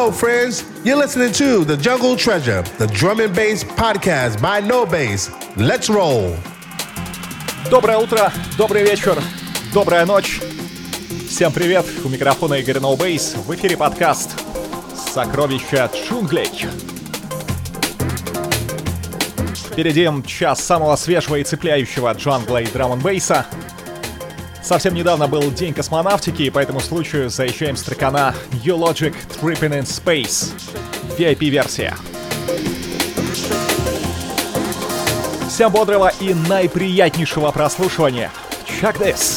Hello, friends. You're listening to The Jungle Treasure, the drum and bass podcast by No Bass. Let's roll. Доброе утро, добрый вечер, добрая ночь. Всем привет, у микрофона Игорь No Bass. В эфире подкаст «Сокровища джунглей». Впереди час самого свежего и цепляющего джангла и драм-н-бейса. Совсем недавно был День космонавтики, и по этому случаю заезжаем с трекана U-Logic Tripping in Space. VIP-версия. Всем бодрого и наиприятнейшего прослушивания. Check this!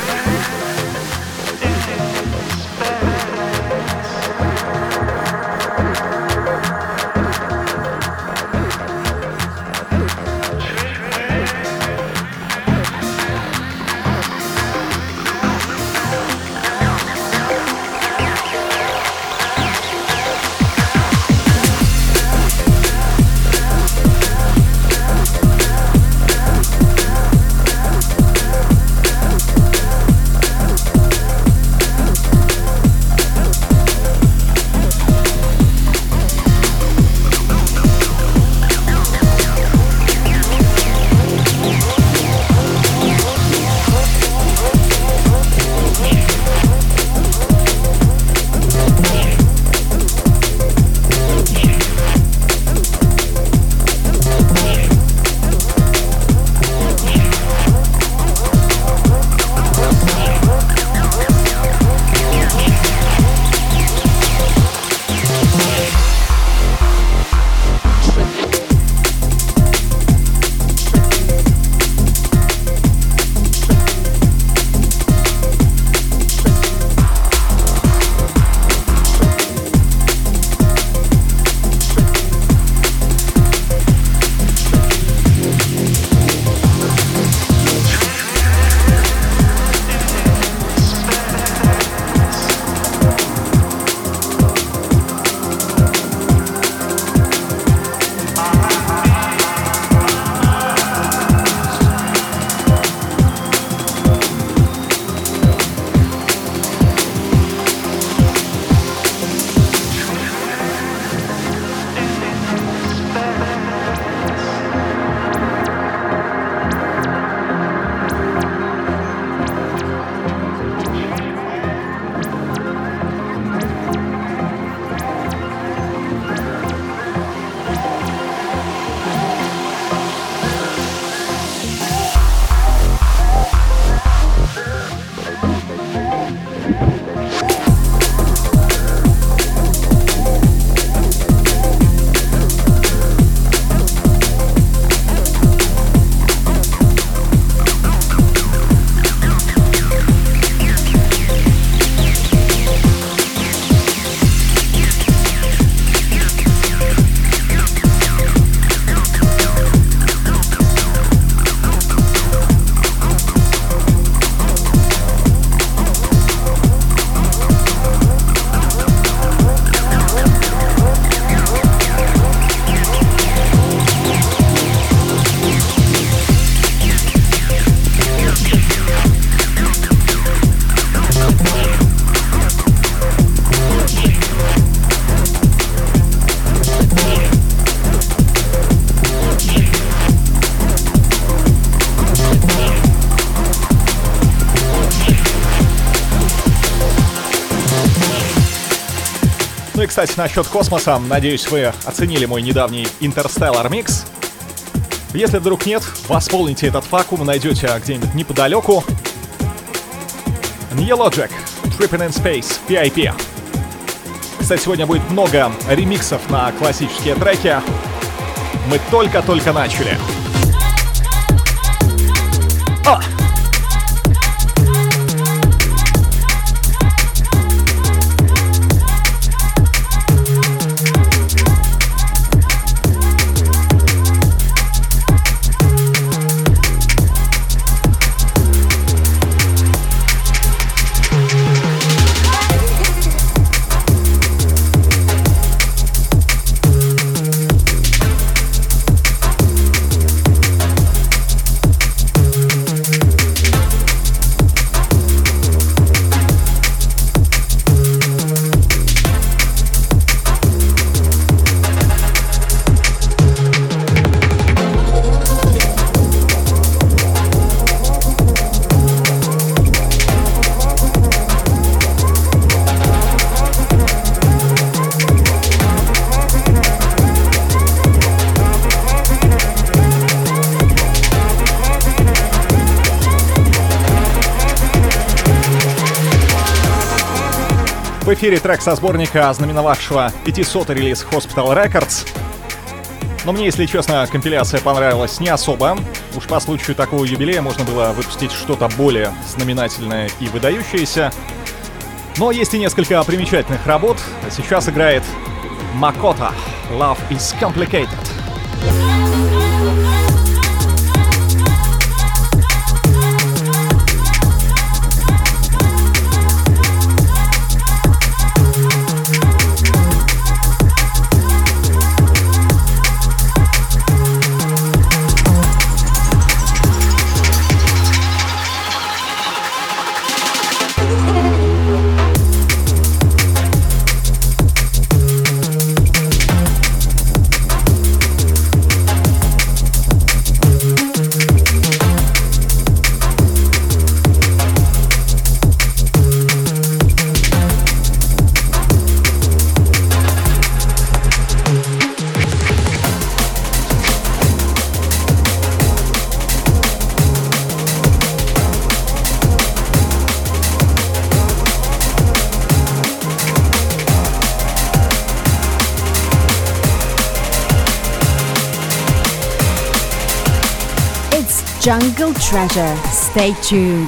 Ну и, кстати, насчет космоса, надеюсь, вы оценили мой недавний Interstellar Mix. Если вдруг нет, восполните этот вакуум, найдете где-нибудь неподалеку. U-Logic Tripping in Space VIP. Кстати, сегодня будет много ремиксов на классические треки. Мы только-только начали. В эфире трек со сборника, знаменовавшего 500-й релиз Hospital Records. Но мне, если честно, компиляция понравилась не особо. Уж по случаю такого юбилея можно было выпустить что-то более знаменательное и выдающееся. Но есть и несколько примечательных работ. Сейчас играет Макота «Love is Complicated». Jungle Treasure. Stay tuned.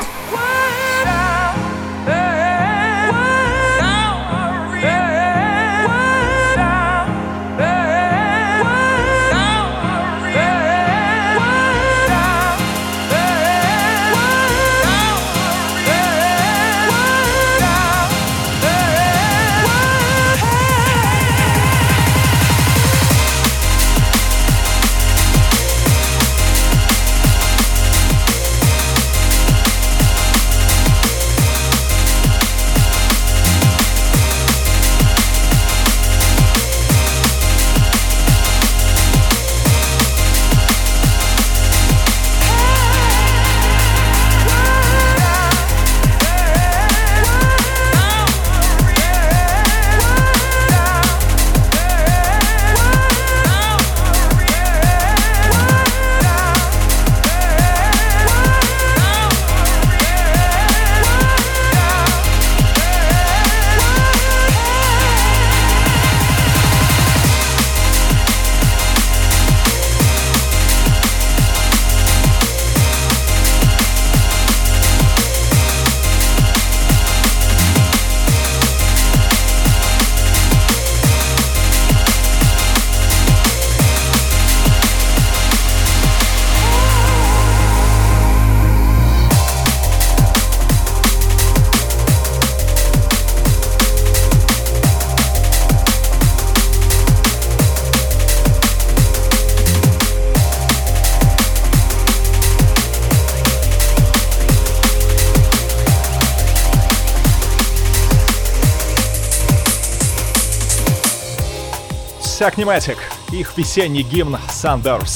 Pneumatic, их весенний гимн Sunburst.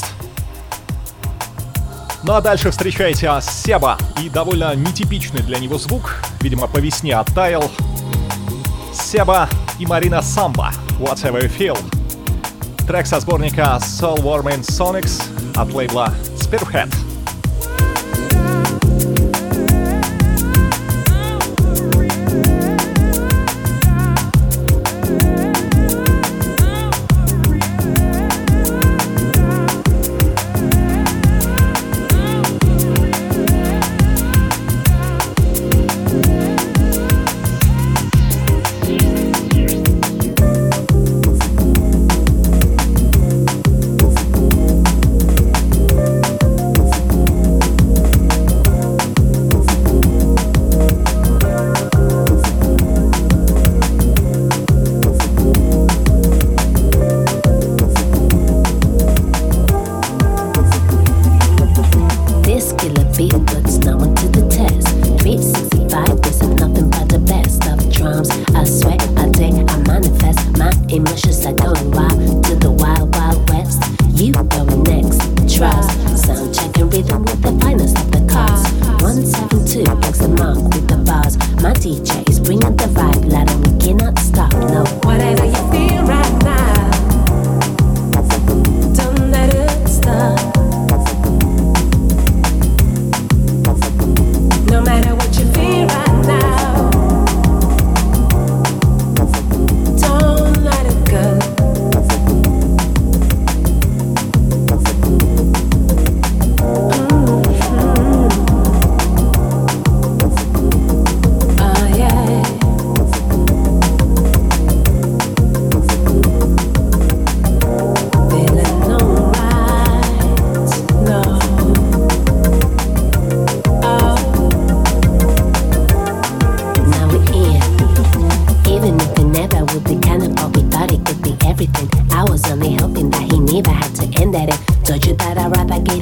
Ну а дальше встречайте Себа и довольно нетипичный для него звук, видимо по весне оттаял. Себа и Марина Самба, Whatever You Feel. Трек со сборника Soul Warming Sonics от лейбла Spearhead.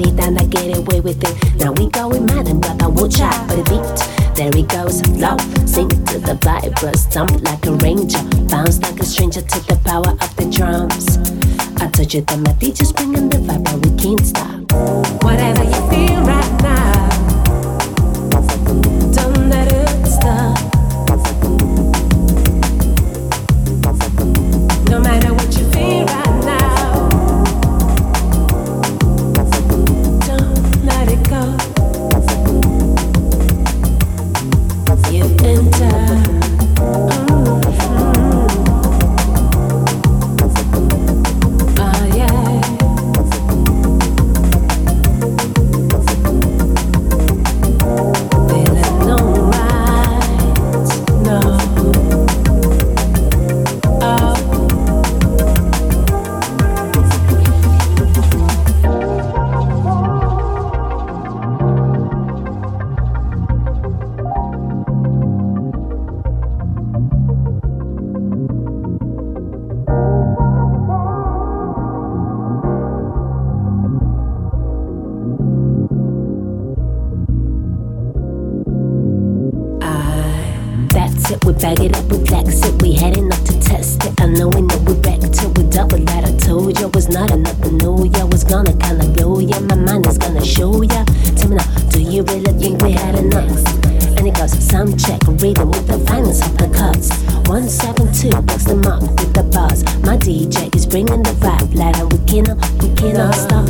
and I get away with it. Now we going mad and brother, watch out for the beat. There he goes, flow, sing to the vibras, jump like a ranger, bounce like a stranger to the power of the drums. I told you that my teacher's bringing the vibe, but we can't stop. Whatever you feel right now, don't let it stop. No matter what you feel right now, don't let it go. You've entered. Bag it up, we flex it, we heading up to test it. I know we back till we double that. I told you was not enough to know ya. Was gonna kinda blow ya, my mind is gonna show ya. Tell me now, do you really think we had enough? And it goes, sound check, reading with the finest of the cuts. 172, box them up with the buzz. My DJ is bringing the vibe, like we cannot stop.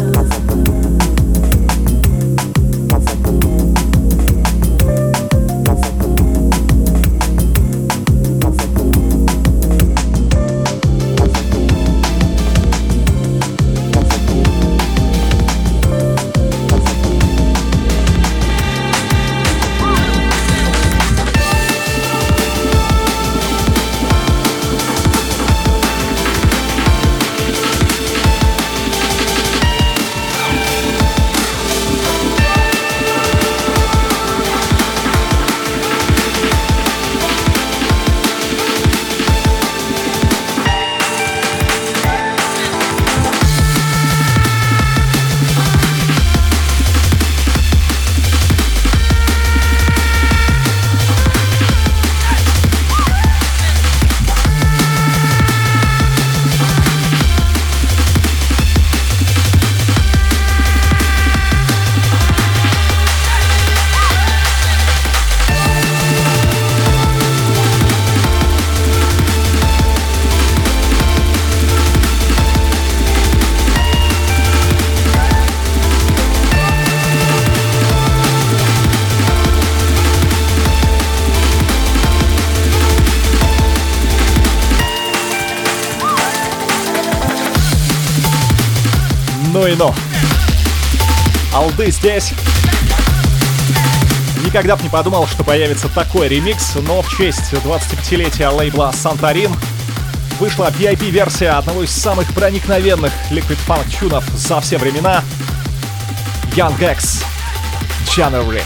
Ну и ну. Алды здесь. Никогда бы не подумал, что появится такой ремикс, но в честь 25-летия лейбла Santorin вышла VIP-версия одного из самых проникновенных Liquid Funk тюнов за все времена — Young X January.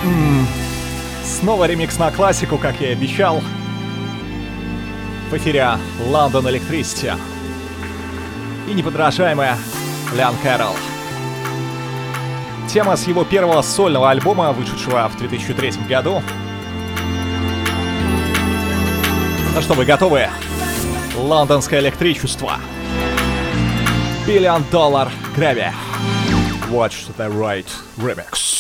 Снова ремикс на классику, как я и обещал. В эфире London Electricity и неподражаемая Лян Кэрролл. Тема с его первого сольного альбома, вышедшего в 2003 году. Ну что, вы готовы? Лондонское электричество. $1 Billion Gravy. Watch the Right Remix.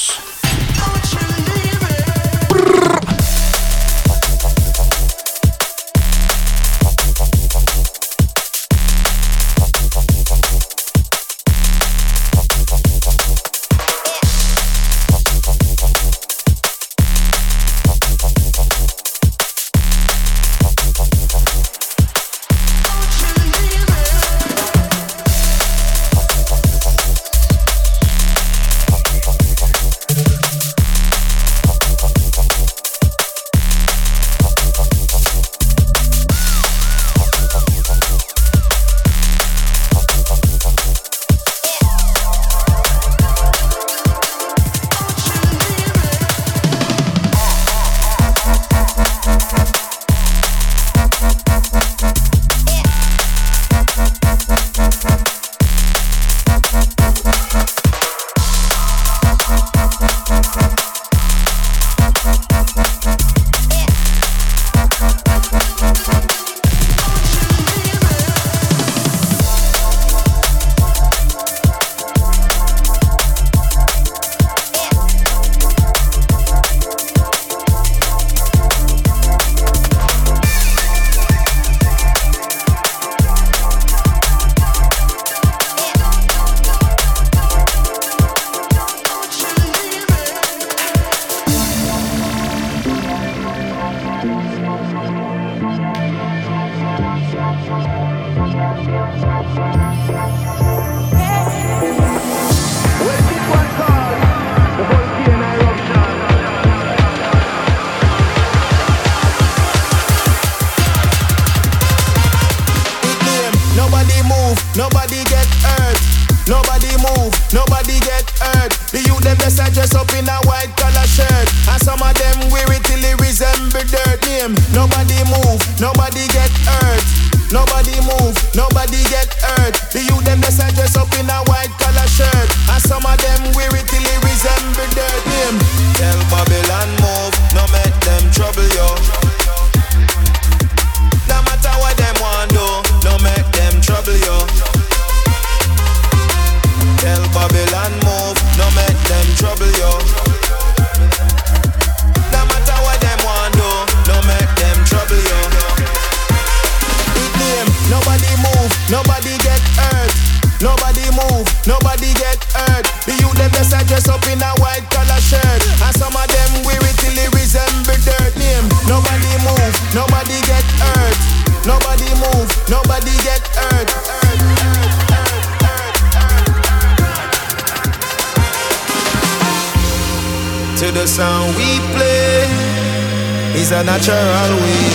Natural way.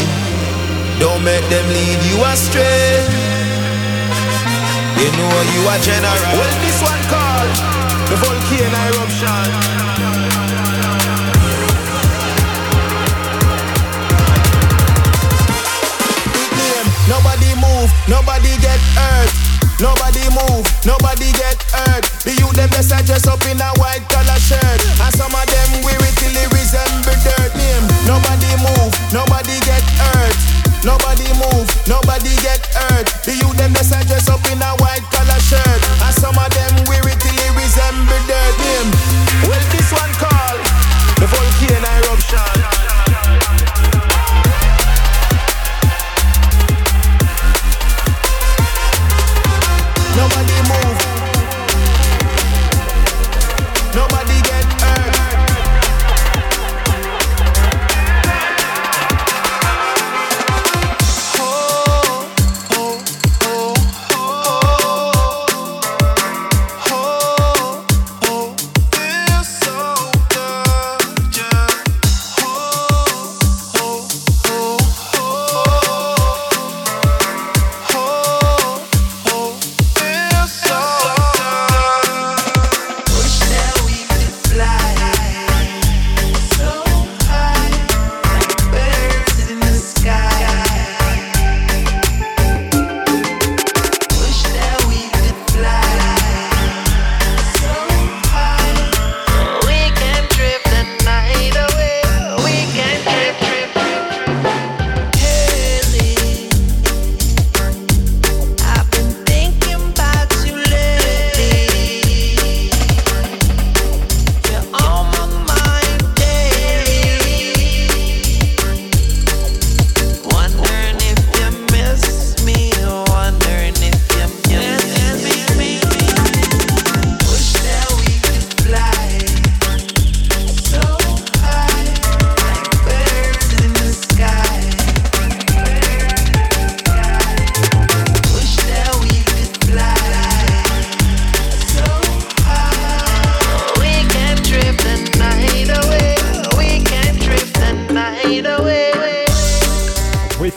Don't make them lead you astray. You know you are general. Well, this one called the volcano eruption. Nobody move, nobody get hurt. Nobody move, nobody get hurt. The youth them just dress up in a white collar shirt, and some of them wear it till it resemble dirt. Name. Nobody move, nobody get hurt. Nobody move, nobody get hurt. The youth them just dress up in a white collar shirt, and some of them wear it till it resemble dirt. Name. Well, this one called the volcano eruption. Nobody move. Nobody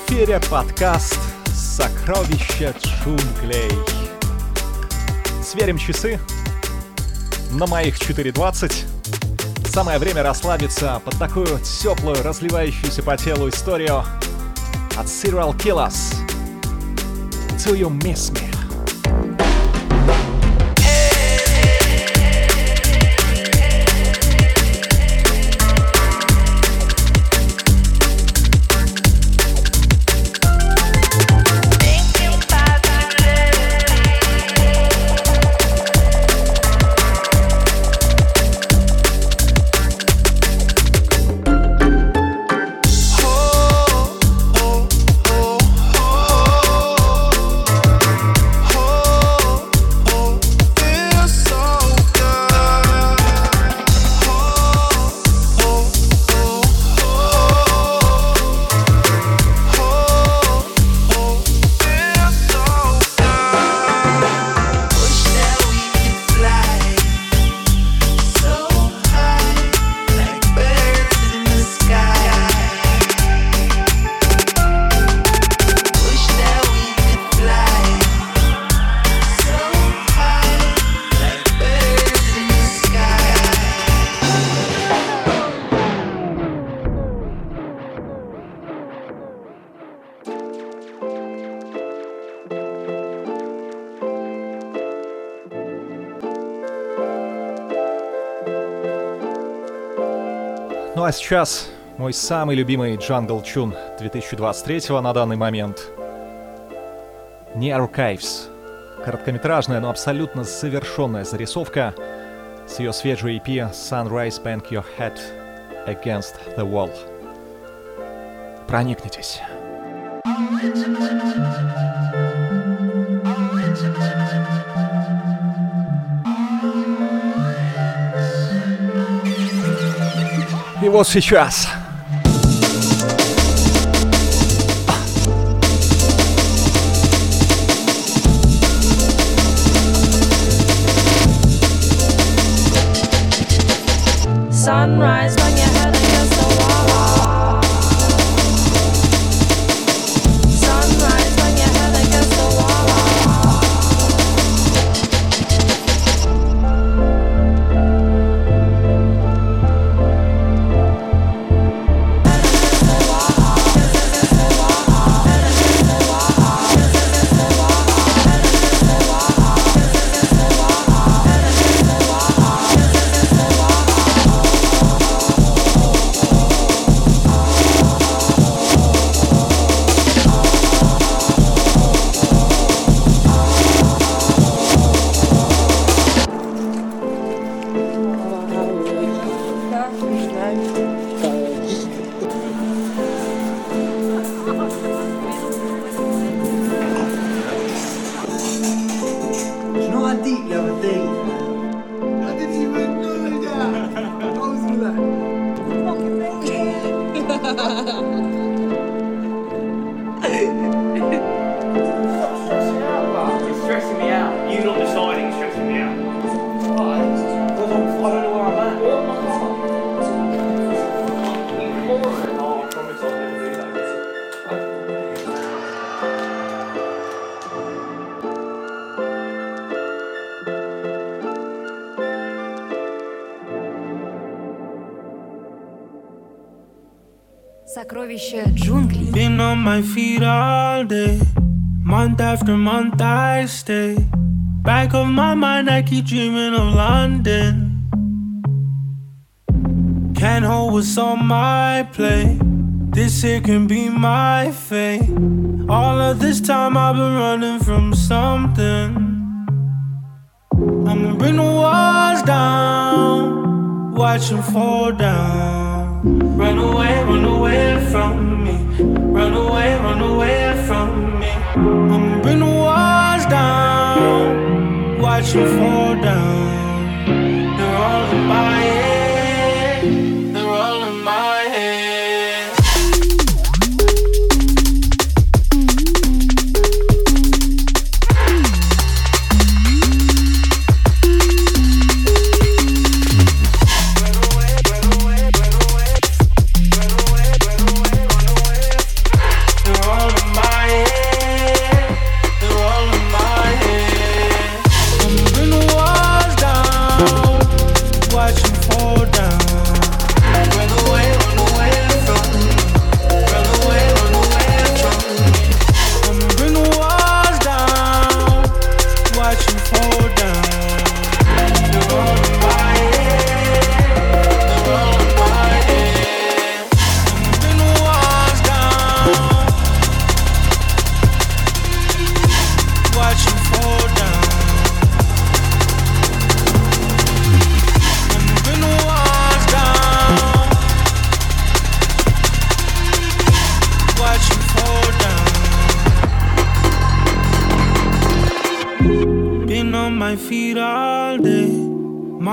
эфире подкаст «Сокровища джунглей». Сверим часы. На моих 4:20. Самое время расслабиться под такую теплую, разливающуюся по телу историю от Serial Killers. Do You Miss Me? Ну а сейчас мой самый любимый джангл чун 2023 на данный момент. Near Caves. Короткометражная, но абсолютно завершенная зарисовка с ее свежей EP Sunrise Bang Your Head Against the Wall. Проникнитесь. И вот сейчас. Sunrise when your head against the wall. Sunrise when your head against the wall. Сокровища джунглей. Been on my feet all day. Month after month I stay. Back of my mind I keep dreaming of London. Can't hold what's on my plate. This here can be my fate. All of this time I've been running from something. I'ma bring the walls down, watch them fall down. Run away from me. Run away from me. I'ma bring the walls down, watch them fall down. They're all in my head. They're all in my head. They're all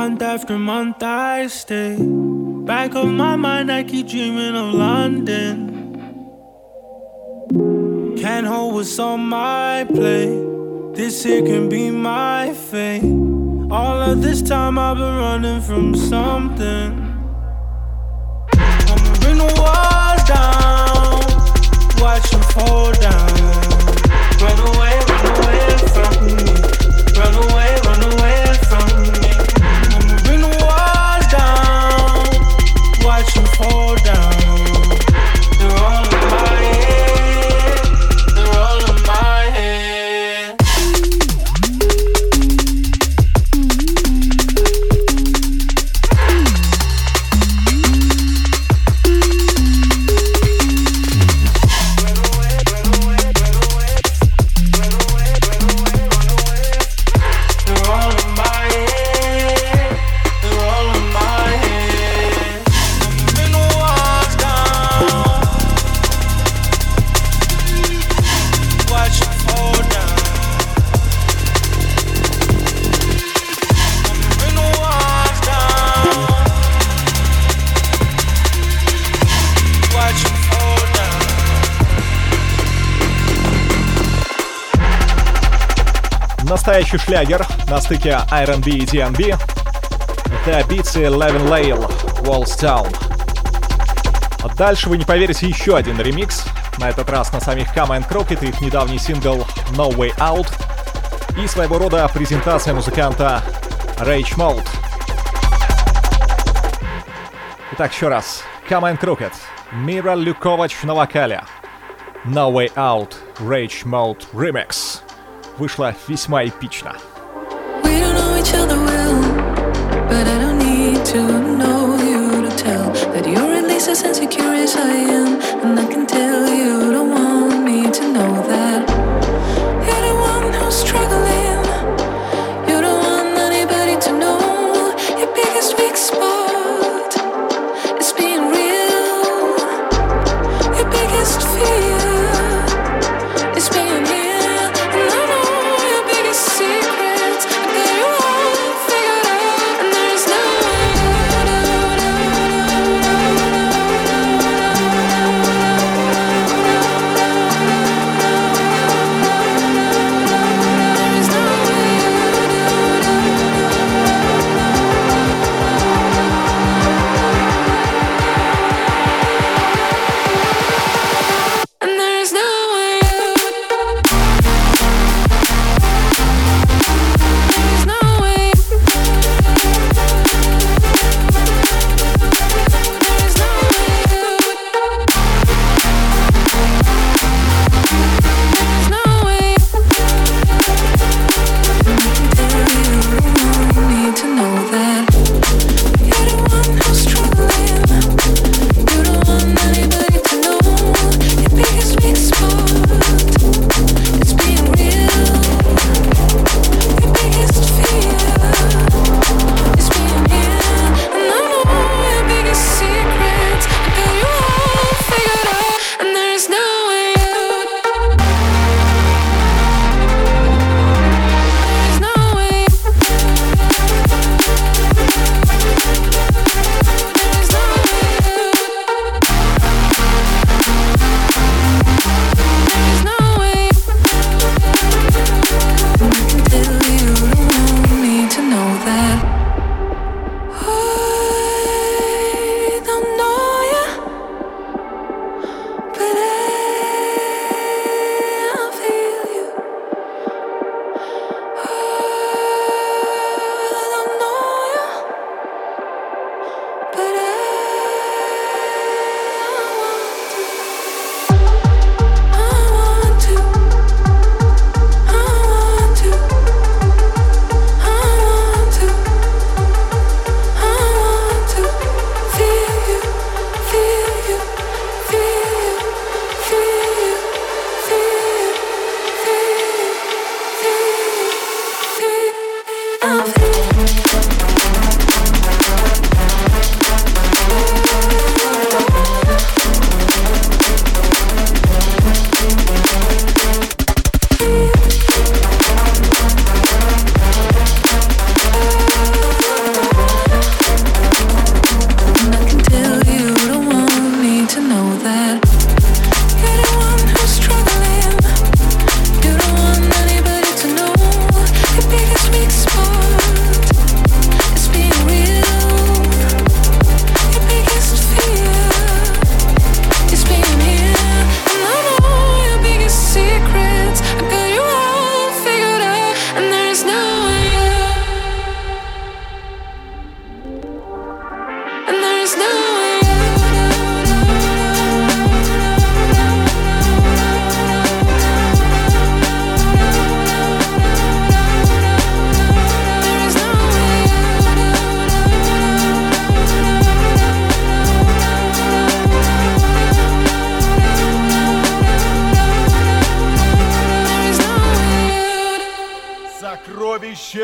Month after month I stay. Back of my mind I keep dreaming of London. Can't hold what's on my plate. This here can be my fate. All of this time I've been running from something. I'ma bring the walls down, watch them fall down. Run away from me. Run away from me. I'ma bring the walls down, watch them fall down. They're all in my head. They're all in my head. Настоящий шлягер на стыке R&B и D&B. Это Beatsy Levin Lail, Walls Town. А дальше вы не поверите, еще один ремикс. На этот раз на самих Come and Crooked и их недавний сингл No Way Out. И своего рода презентация музыканта Rage Mode. Итак, еще раз. Come and Crooked, Mira Люковач на вокале. No Way Out, Rage Mode Remix. Вышло весьма эпично. We don't know each other well, but I don't need to know you to tell that you're at least as insecure as I am, and I can tell you don't want me to know that you're the one who's struggling. You don't want anybody to know your biggest weak spot is being real. Your biggest fear is being real.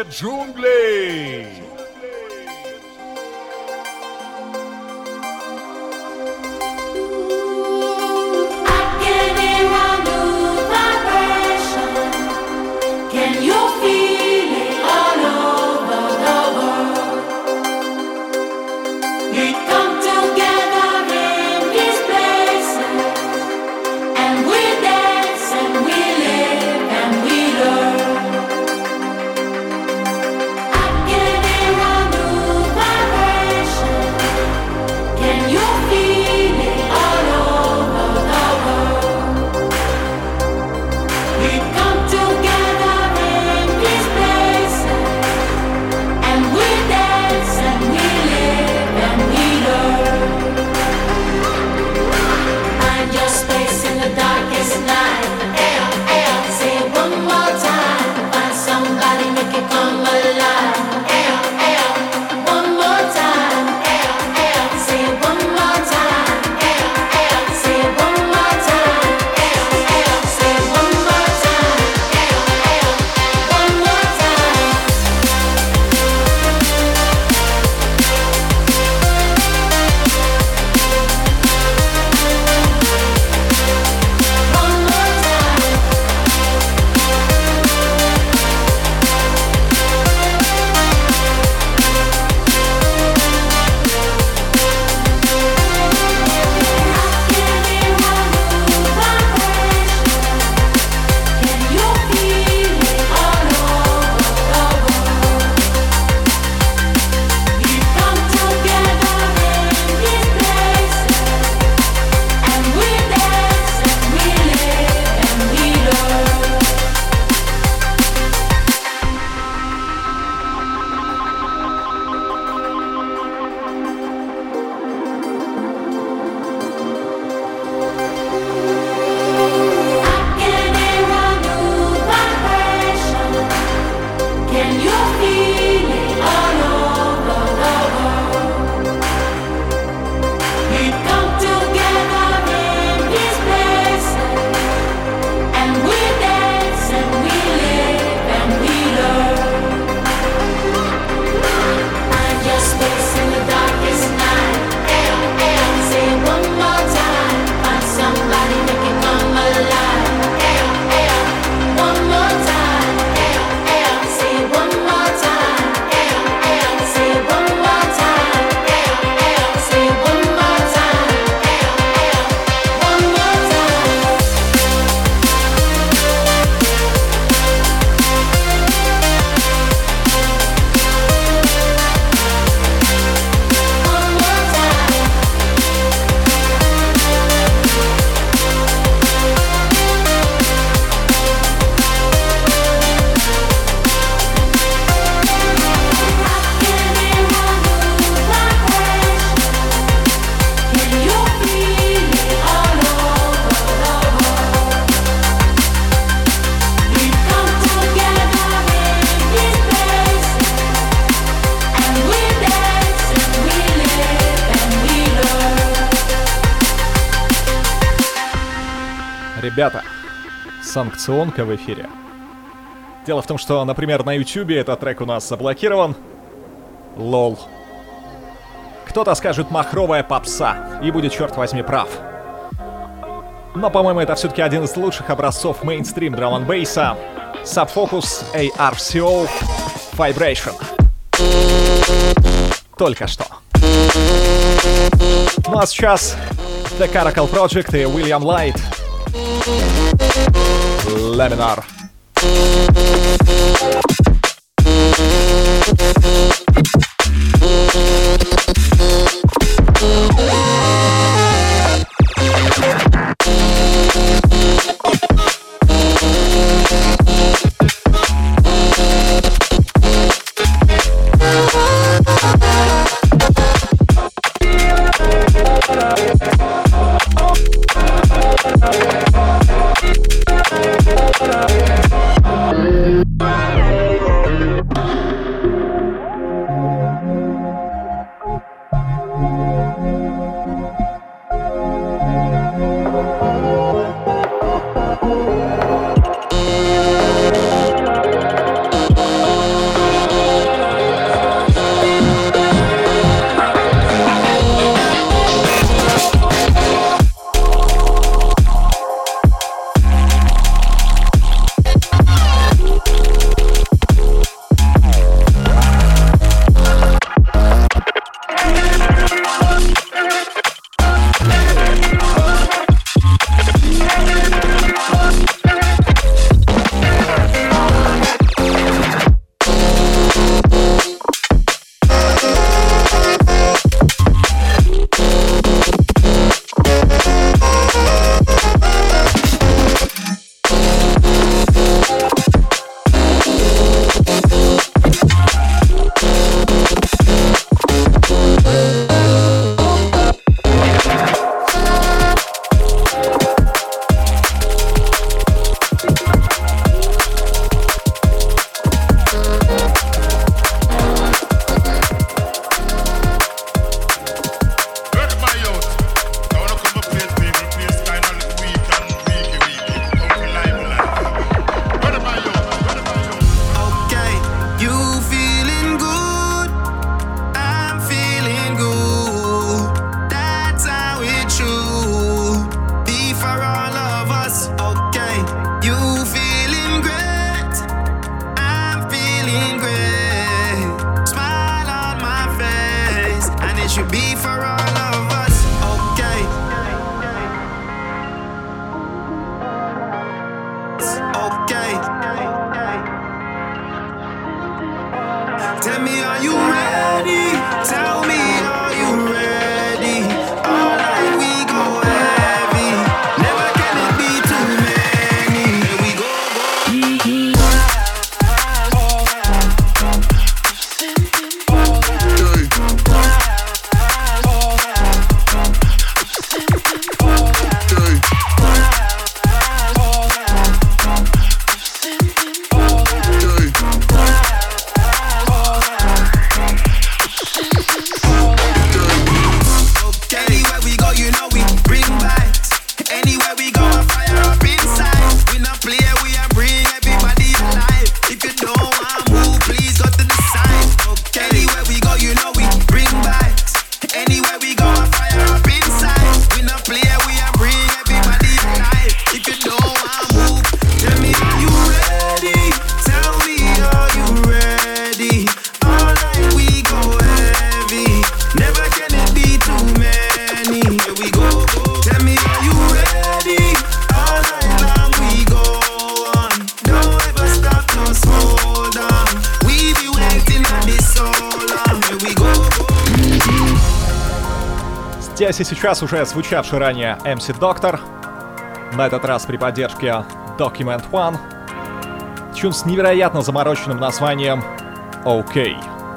Настоящие джунгли. Ребята, санкционка в эфире. Дело в том, что, например, на YouTube этот трек у нас заблокирован. Лол. Кто-то скажет «махровая попса» и будет, черт возьми, прав. Но, по-моему, это все-таки один из лучших образцов мейнстрим драм-н-бейса. Subfocus ARCO Vibration. Только что. Ну а сейчас The Caracal Project и William Light. Laminar. здесь и сейчас уже звучавший ранее MC Doctor, на этот раз при поддержке Document One. Тюн с невероятно замороченным названием OK.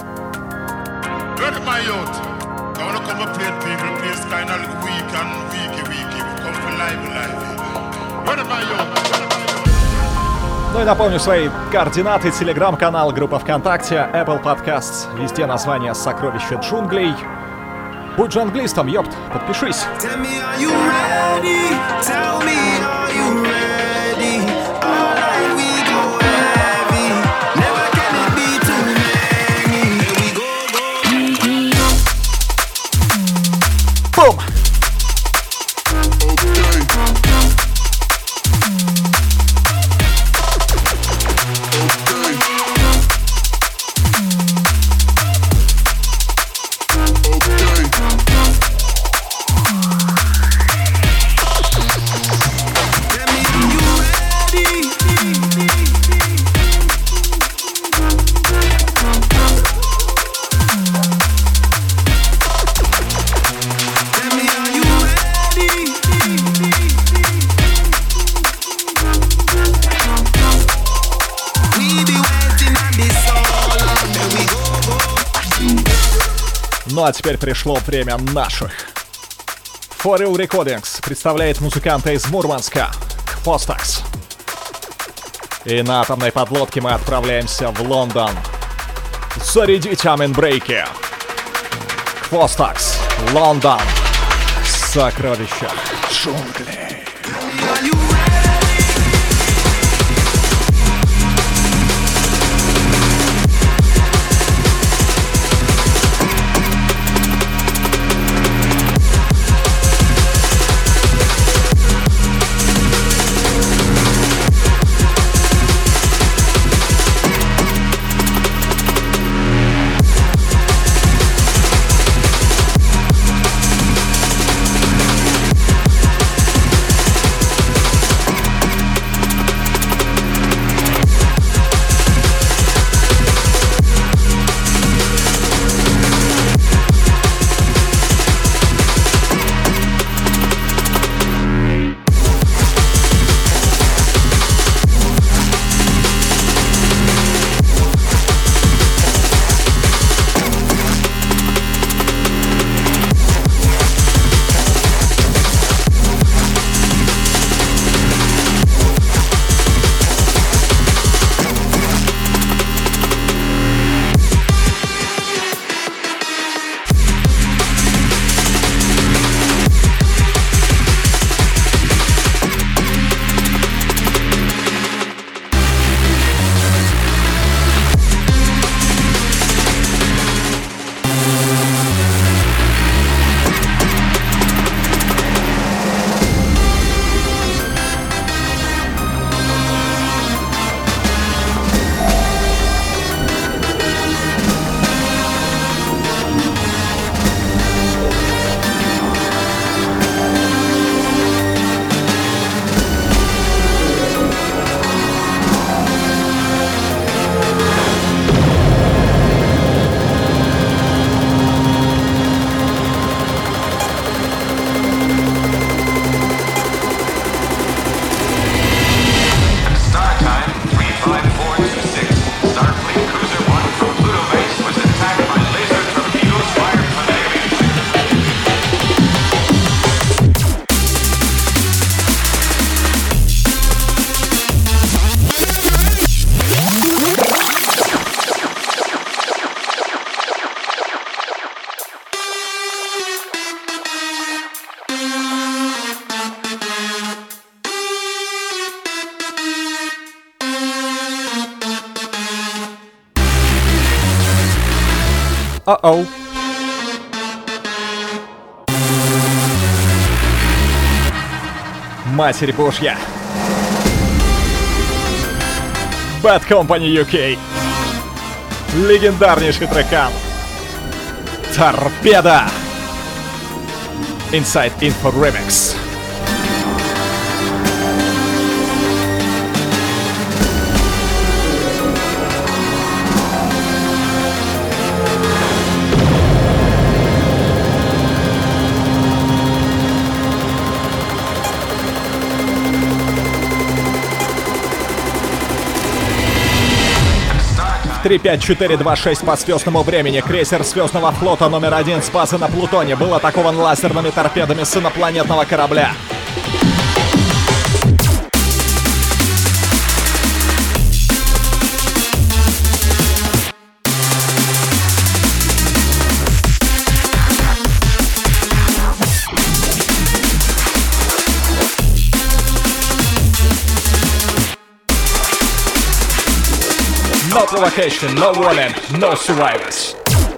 Ну и напомню свои координаты: телеграм-канал, группа ВКонтакте, Apple Podcasts, везде название «Сокровища джунглей». Будь же англистом, ёпт, подпишись. Бум! Ну а теперь пришло время наших. For Real Recordings представляет музыканта из Мурманска, Квостакс. И на атомной подлодке мы отправляемся в Лондон. Зарядить аминбрейки. Квостакс, Лондон. Сокровища джунглей. Uh-oh. Матерь Божья. Bad Company UK. Легендарнейший трекан. Торпеда. Inside Info Remix. 35426 по звездному времени. Крейсер звездного флота номер 1 с базы на Плутоне был атакован лазерными торпедами с инопланетного корабля. No provocation, no warning, no survivors.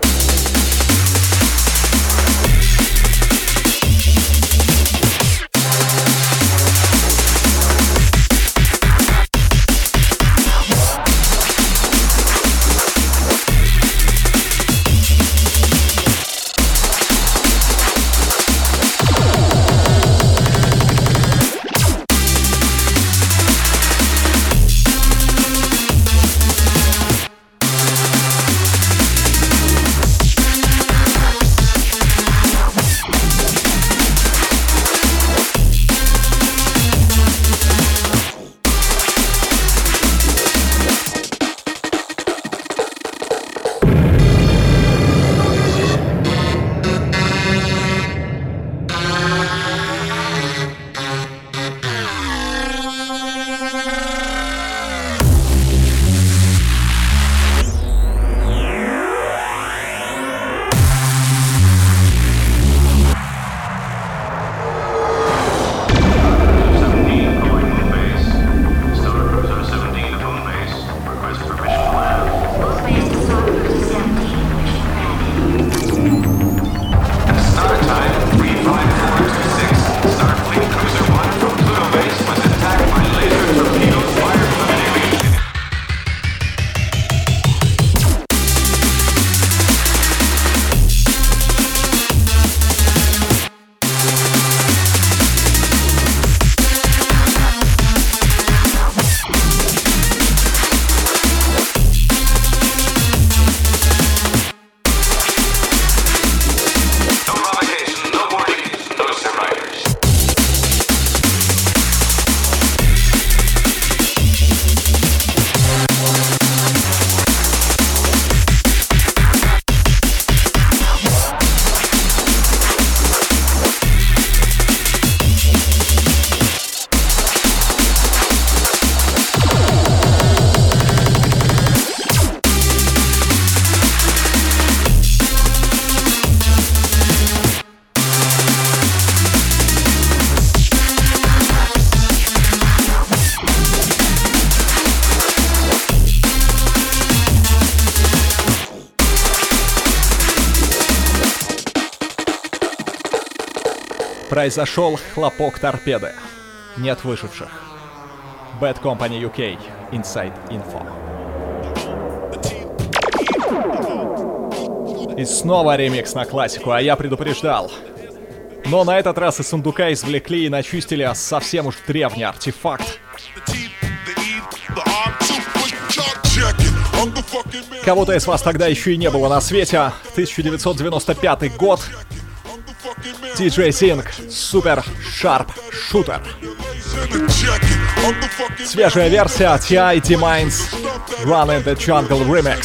Произошел хлопок торпеды. Нет выживших. Bad Company UK. Inside Info. И снова ремикс на классику, а я предупреждал. Но на этот раз из сундука извлекли и начистили совсем уж древний артефакт. Кого-то из вас тогда еще и не было на свете. 1995 год. DJ Zing, Super Sharp Shooter. Свежая версия T.I.D. Minds Run in the Jungle Remix.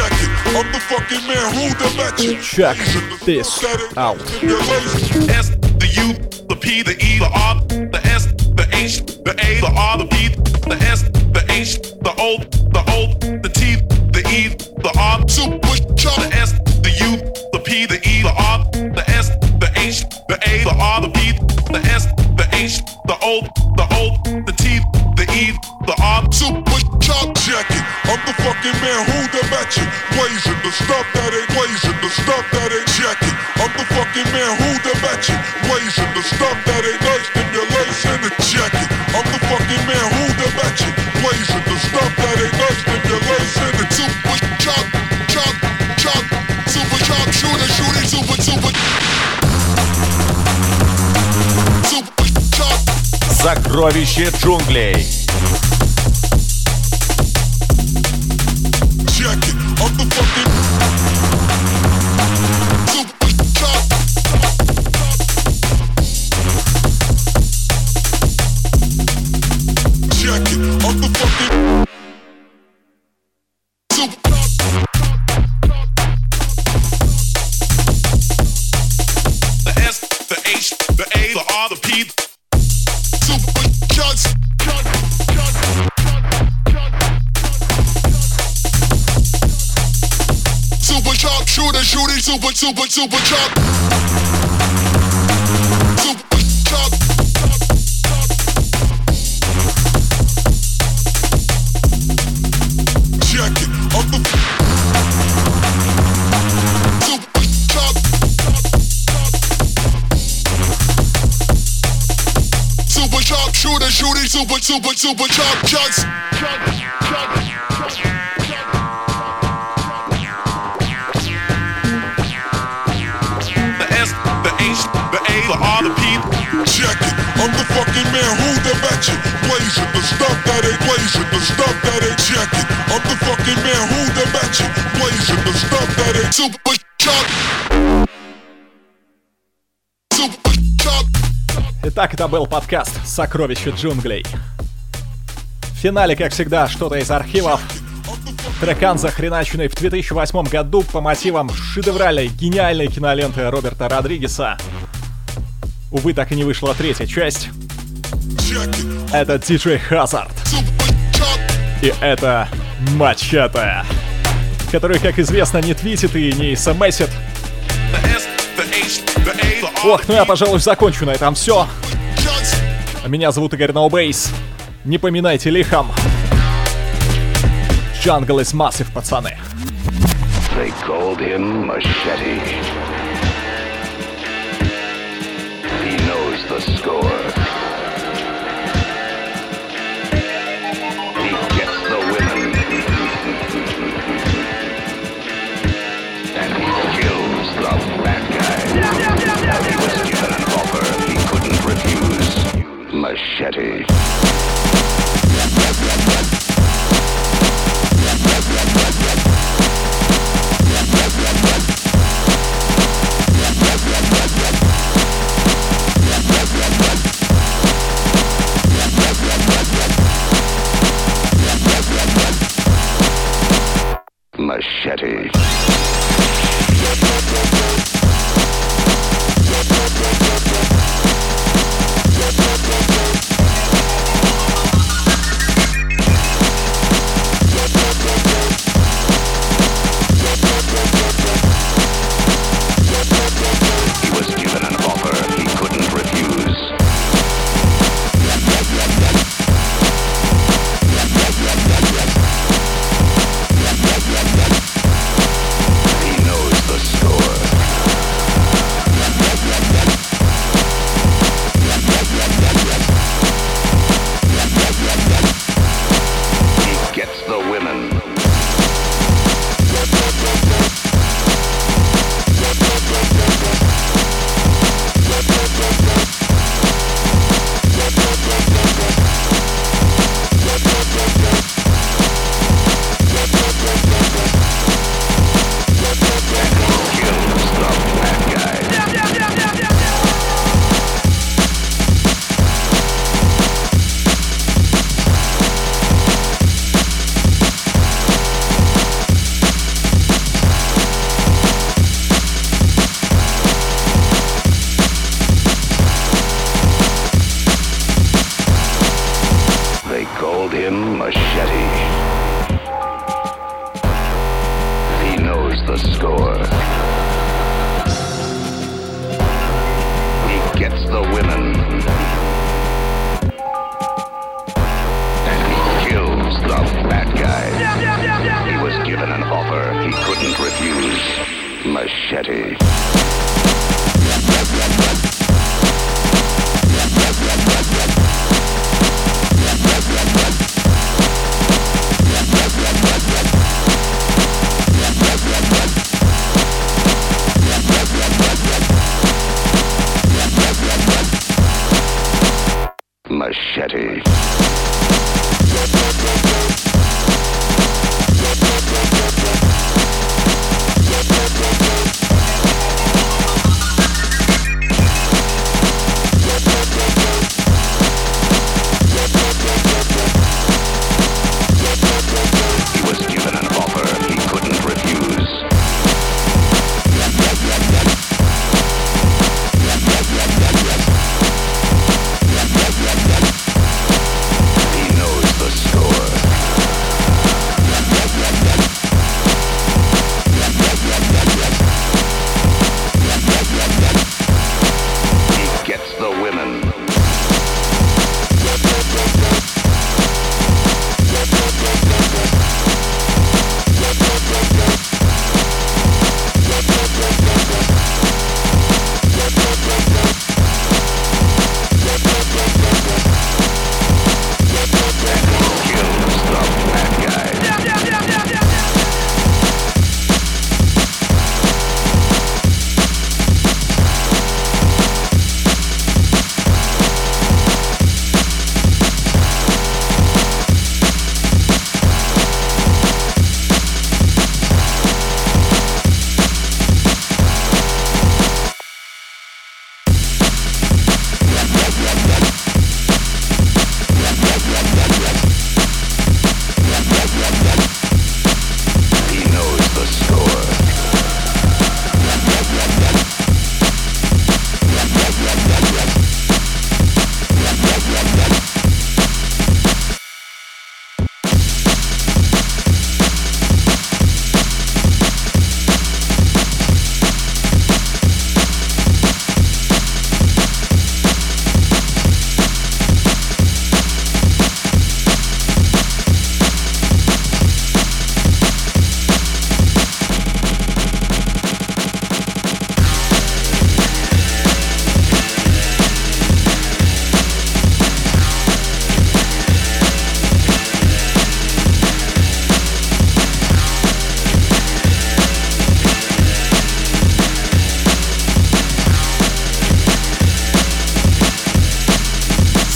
Check this out. S, the U, the P, the E, the R, the S, the H, the A, the R, the B, the S, the H, the O, the T, the E, the R, the S, the U, the P, the E, the R, the S, the H, the A, the R, the B, the S, the H, the O, the T, the E, the R. Super chop jacket. I'm the fucking man who the matching. Blazing the stuff that ain't blazing, the stuff that ain't jacket. I'm the fucking man who the matching. Blazing the stuff that ain't nice, stimulation the jacket. I'm the fucking man who the matching. Blazing the stuff that ain't nice, stimulation the super chop, super chop shooter, shooting super. Сокровище джунглей. P, super shots. Super sharp shooter, shooting super sharp. Super sharp. Check it. Up the super sharp. Super sharp shooter, shooting super sharp shots. The R, the P. Check it. I'm the fucking man who the match it. Blaze it, the stuff that ain't blaze it, the stuff that ain't check it. I'm the fucking man who the match it. Blaze it, the stuff that ain't super sharp. Super sharp. Итак, это был подкаст «Сокровища джунглей». В финале, как всегда, что-то из архивов. Трекан, захреначенный в 2008 году по мотивам шедевральной, гениальной киноленты Роберта Родригеса. Увы, так и не вышла третья часть. Это DJ Hazard. И это Мачете, который, как известно, не твитит и не смсит. Ох, ну я, пожалуй, закончу на этом все. Меня зовут Игорь No Bass. Не поминайте лихом. Jungle is massive, пацаны. They called him Machete. He knows the score. He gets the women. And he kills the bad guy. He was given an offer he couldn't refuse. Machete. Machete. Machete. Machete.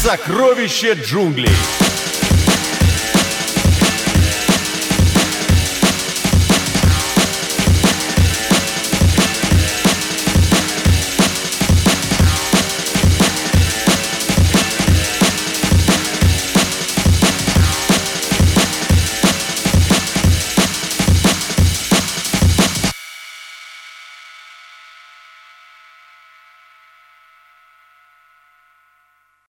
Сокровище джунглей.